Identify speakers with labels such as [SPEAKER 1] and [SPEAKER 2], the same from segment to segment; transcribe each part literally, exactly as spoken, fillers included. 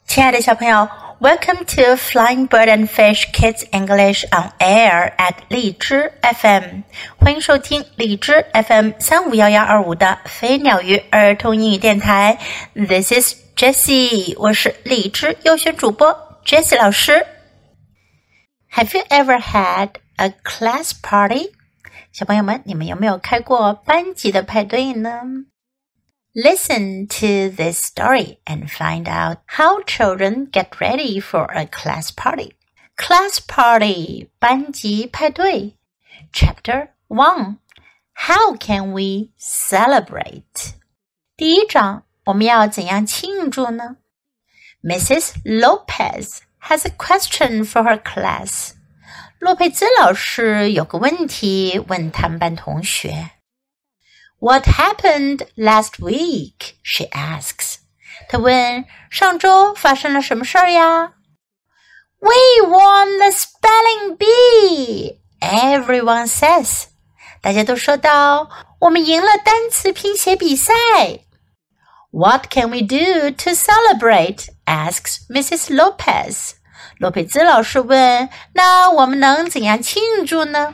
[SPEAKER 1] 亲爱的小朋友 Welcome to Flying Bird and Fish Kids English on Air at 荔枝 F M 欢迎收听荔枝 F M 三五一一二五的飞鸟鱼儿童英语电台 This is Jessie 我是荔枝优选主播 Jessie 老师 Have you ever had a class party? 小朋友们，你们有没有开过班级的派对呢？Listen to this story and find out how children get ready for a class party. Class party, 班级派对 Chapter one, How can we celebrate? 第一章，我们要怎样庆祝呢？ Missus Lopez has a question for her class. 洛佩兹老师有个问题问他们班同学。What happened last week? She asks. 她问，上周发生了什么事儿呀？ We won the spelling bee! Everyone says. 大家都说道，我们赢了单词拼写比赛。What can we do to celebrate? Asks Missus Lopez. 洛佩兹老师问，那我们能怎样庆祝呢？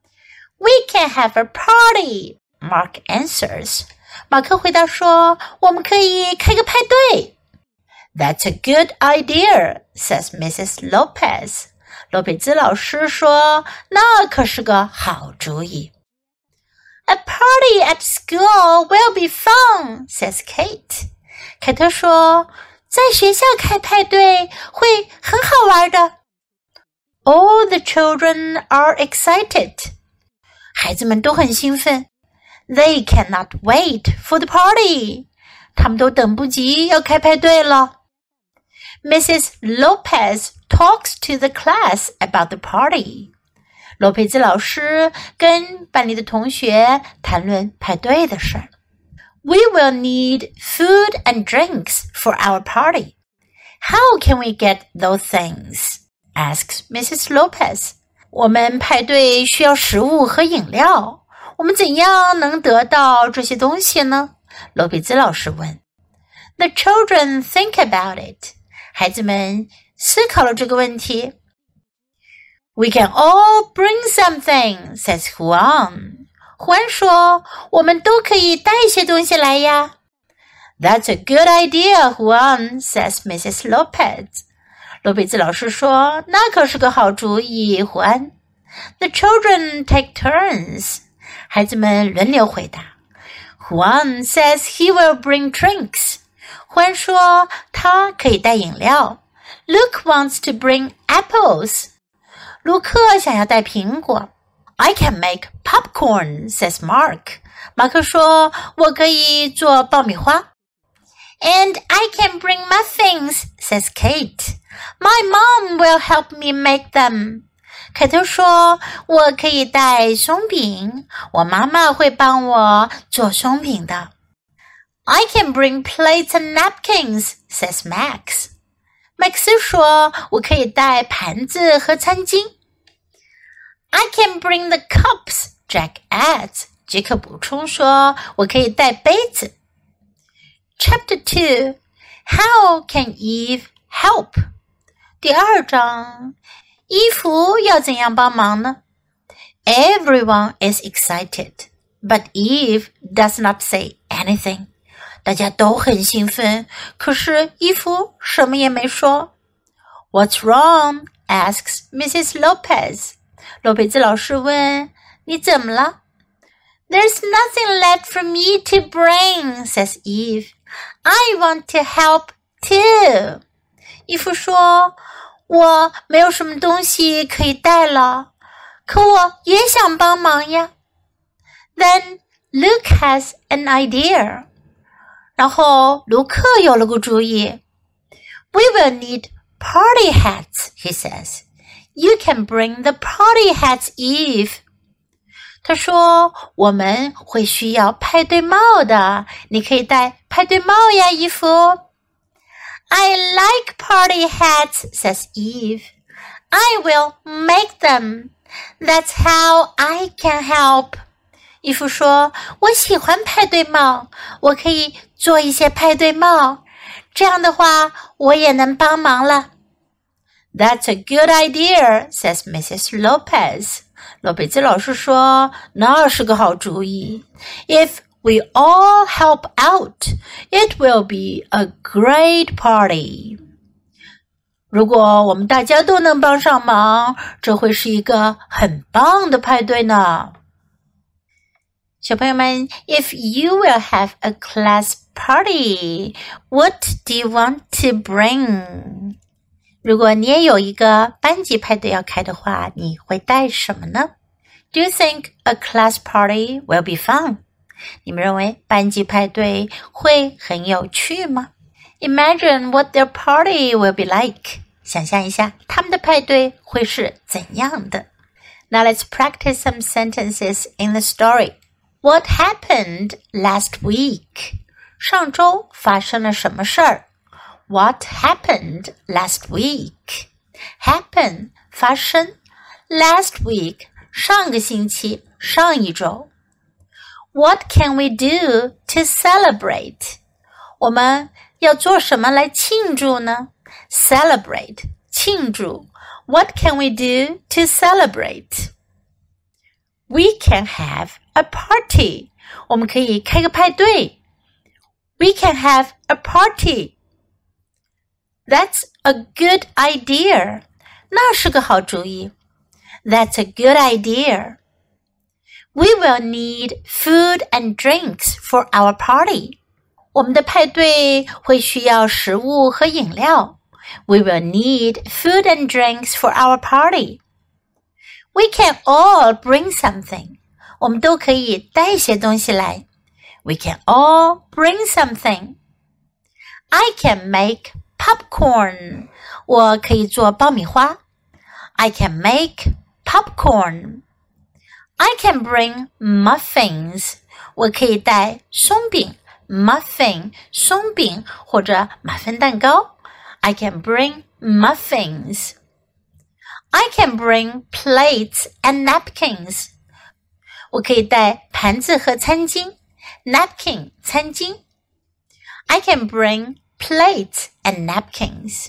[SPEAKER 1] We can have a party.Mark answers. 马克回答说，我们可以开个派对。That's a good idea, says Missus Lopez. 洛佩兹老师说，那可是个好主意。A party at school will be fun, says Kate. 凯特说，在学校开派对会很好玩的。All the children are excited. 孩子们都很兴奋。They cannot wait for the party. 他们都等不及要开派对了。Missus Lopez talks to the class about the party. 罗佩兹老师跟班里的同学谈论派对的事儿。We will need food and drinks for our party. How can we get those things? Asks Missus Lopez. 我们派对需要食物和饮料。我们怎样能得到这些东西呢？罗佩兹老师问。The children think about it. 孩子们思考了这个问题。We can all bring something, says Juan. 胡安说，我们都可以带些东西来呀。That's a good idea, Juan, says Missus Lopez. 罗佩兹老师说，那可是个好主意，胡安。The children take turns.孩子们轮流回答。Juan says he will bring drinks. 胡安说他可以带饮料。Luke wants to bring apples. 卢克想要带苹果。I can make popcorn, says Mark. 马克说我可以做爆米花。And I can bring muffins, says Kate. My mom will help me make them.凯特说，我可以带松饼，我妈妈会帮我做松饼的。I can bring plates and napkins, says Max. 麦克斯说，我可以带盘子和餐巾。I can bring the cups, Jack adds. 杰克补充说，我可以带杯子。Chapter two, How can Eve help? 第二章伊芙要怎样帮忙呢？ Everyone is excited, but Eve does not say anything. 大家都很兴奋，可是伊芙什么也没说。What's wrong? Asks Missus Lopez. 洛佩兹老师问，你怎么了？ There's nothing left for me to bring, says Eve. I want to help too. 伊芙说，我没有什么东西可以带了，可我也想帮忙呀。Then Luke has an idea. 然后卢克有了个主意。We will need party hats, he says. You can bring the party hats, Eve. 他说，我们会需要派对帽的，你可以戴派对帽呀，伊芙。I like party hats, says Eve. I will make them. That's how I can help. 伊芙说，我喜欢派对帽，我可以做一些派对帽， 这样的话，我也能帮忙了。That's a good idea, says Missus Lopez. 罗贝兹老师说，那是个好主意。If we all help out, it will be a great party. 如果我们大家都能帮上忙，这会是一个很棒的派对呢。小朋友们 ，If you will have a class party, what do you want to bring? 如果你也有一个班级派对要开的话，你会带什么呢？ Do you think a class party will be fun? 你们认为班级派对会很有趣吗？ Imagine what their party will be like. 想象一下他们的派对会是怎样的。Now let's practice some sentences in the story. What happened last week? 上周发生了什么事儿？What happened last week? Happen 发生 Last week 上个星期上一周 What can we do to celebrate? 我们要做什么来庆祝呢？ Celebrate 庆祝 What can we do to celebrate? We can have a party. 我们可以开个派对 We can have a party.That's a good idea. 那是个好主意。That's a good idea. We will need food and drinks for our party. 我们的派对会需要食物和饮料。We will need food and drinks for our party. We can all bring something. 我们都可以带些东西来。We can all bring something. I can make popcorn. 我可以做爆米花。I can make popcorn. I can bring muffins. 我可以带松饼 muffin 松饼或者马芬蛋糕。I can bring muffins. I can bring plates and napkins. 我可以带盘子和餐巾 napkin 餐巾。I can bring plates and napkins.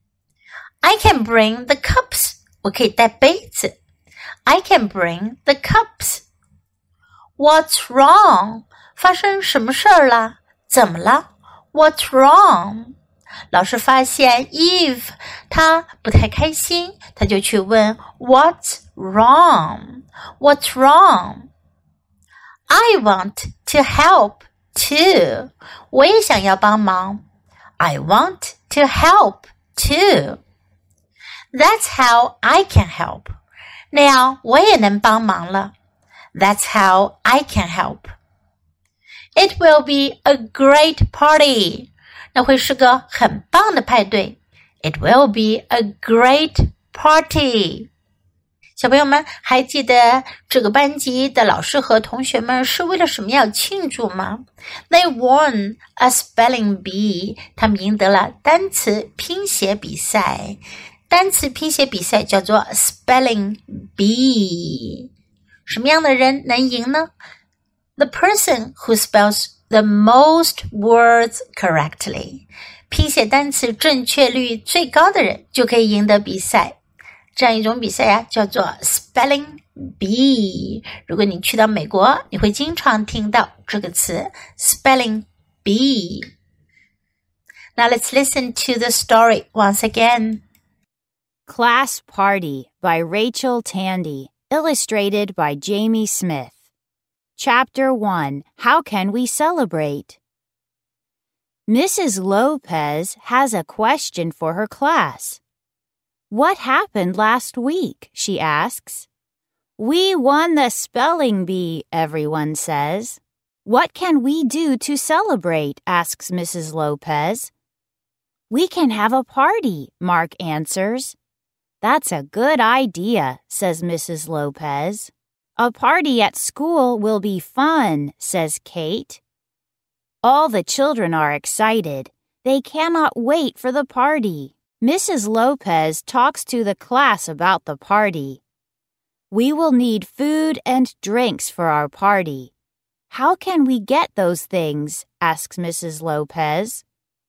[SPEAKER 1] I can bring the cups. 我可以带杯子。I can bring the cups. What's wrong? 发生什么事儿了？怎么了？ What's wrong? 老师发现 Eve 她不太开心，她就去问 What's wrong? What's wrong? I want to help too. 我也想要帮忙。I want to help too. That's how I can help. 那样我也能帮忙了。That's how I can help. It will be a great party. 那会是个很棒的派对。It will be a great party. 小朋友们还记得这个班级的老师和同学们是为了什么要庆祝吗？ They won a spelling bee. 他们赢得了单词拼写比赛。单词拼写比赛叫做 spelling bee. 什么样的人能赢呢？ The person who spells the most words correctly. 拼写单词正确率最高的人就可以赢得比赛。这样一种比赛呀、啊，叫做 Spelling Bee。如果你去到美国，你会经常听到这个词 Spelling Bee。Now let's listen to the story once again.
[SPEAKER 2] Class Party by Rachel Tandy, illustrated by Jamie Smith. Chapter one, How Can We Celebrate? Missus Lopez has a question for her class.What happened last week? She asks. We won the spelling bee, everyone says. What can we do to celebrate? Asks Missus Lopez. We can have a party, Mark answers. That's a good idea, says Missus Lopez. A party at school will be fun, says Kate. All the children are excited. They cannot wait for the party.Missus Lopez talks to the class about the party. We will need food and drinks for our party. How can we get those things? Asks Missus Lopez.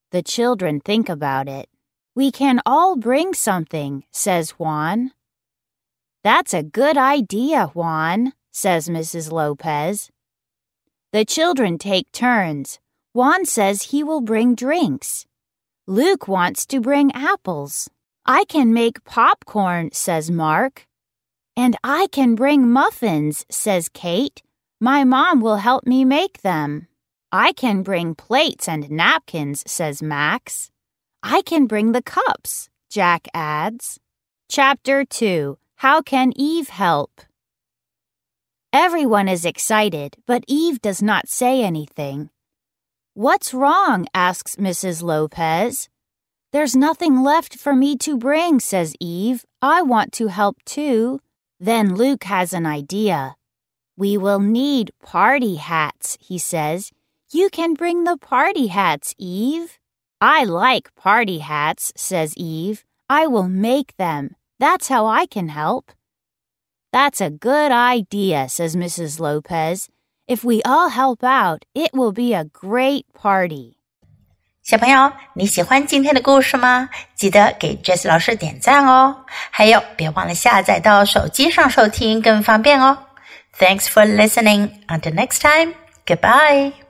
[SPEAKER 2] The children think about it. We can all bring something, says Juan. That's a good idea, Juan, says Missus Lopez. The children take turns. Juan says he will bring drinks. Luke wants to bring apples. I can make popcorn, says Mark. And I can bring muffins, says Kate. My mom will help me make them. I can bring plates and napkins, says Max. I can bring the cups, Jack adds. Chapter two. How can Eve help? Everyone is excited, but Eve does not say anything. What's wrong? Asks Missus Lopez. There's nothing left for me to bring, says Eve. I want to help too. Then Luke has an idea. We will need party hats, he says. You can bring the party hats, Eve. I like party hats, says Eve. I will make them. That's how I can help. That's a good idea, says Missus Lopez. If we all help out, it will be a great party.
[SPEAKER 1] 小朋友，你喜欢今天的故事吗？记得给 Jessie 老师点赞哦。还有，别忘了下载到手机上收听，更方便哦。Thanks for listening. Until next time, goodbye.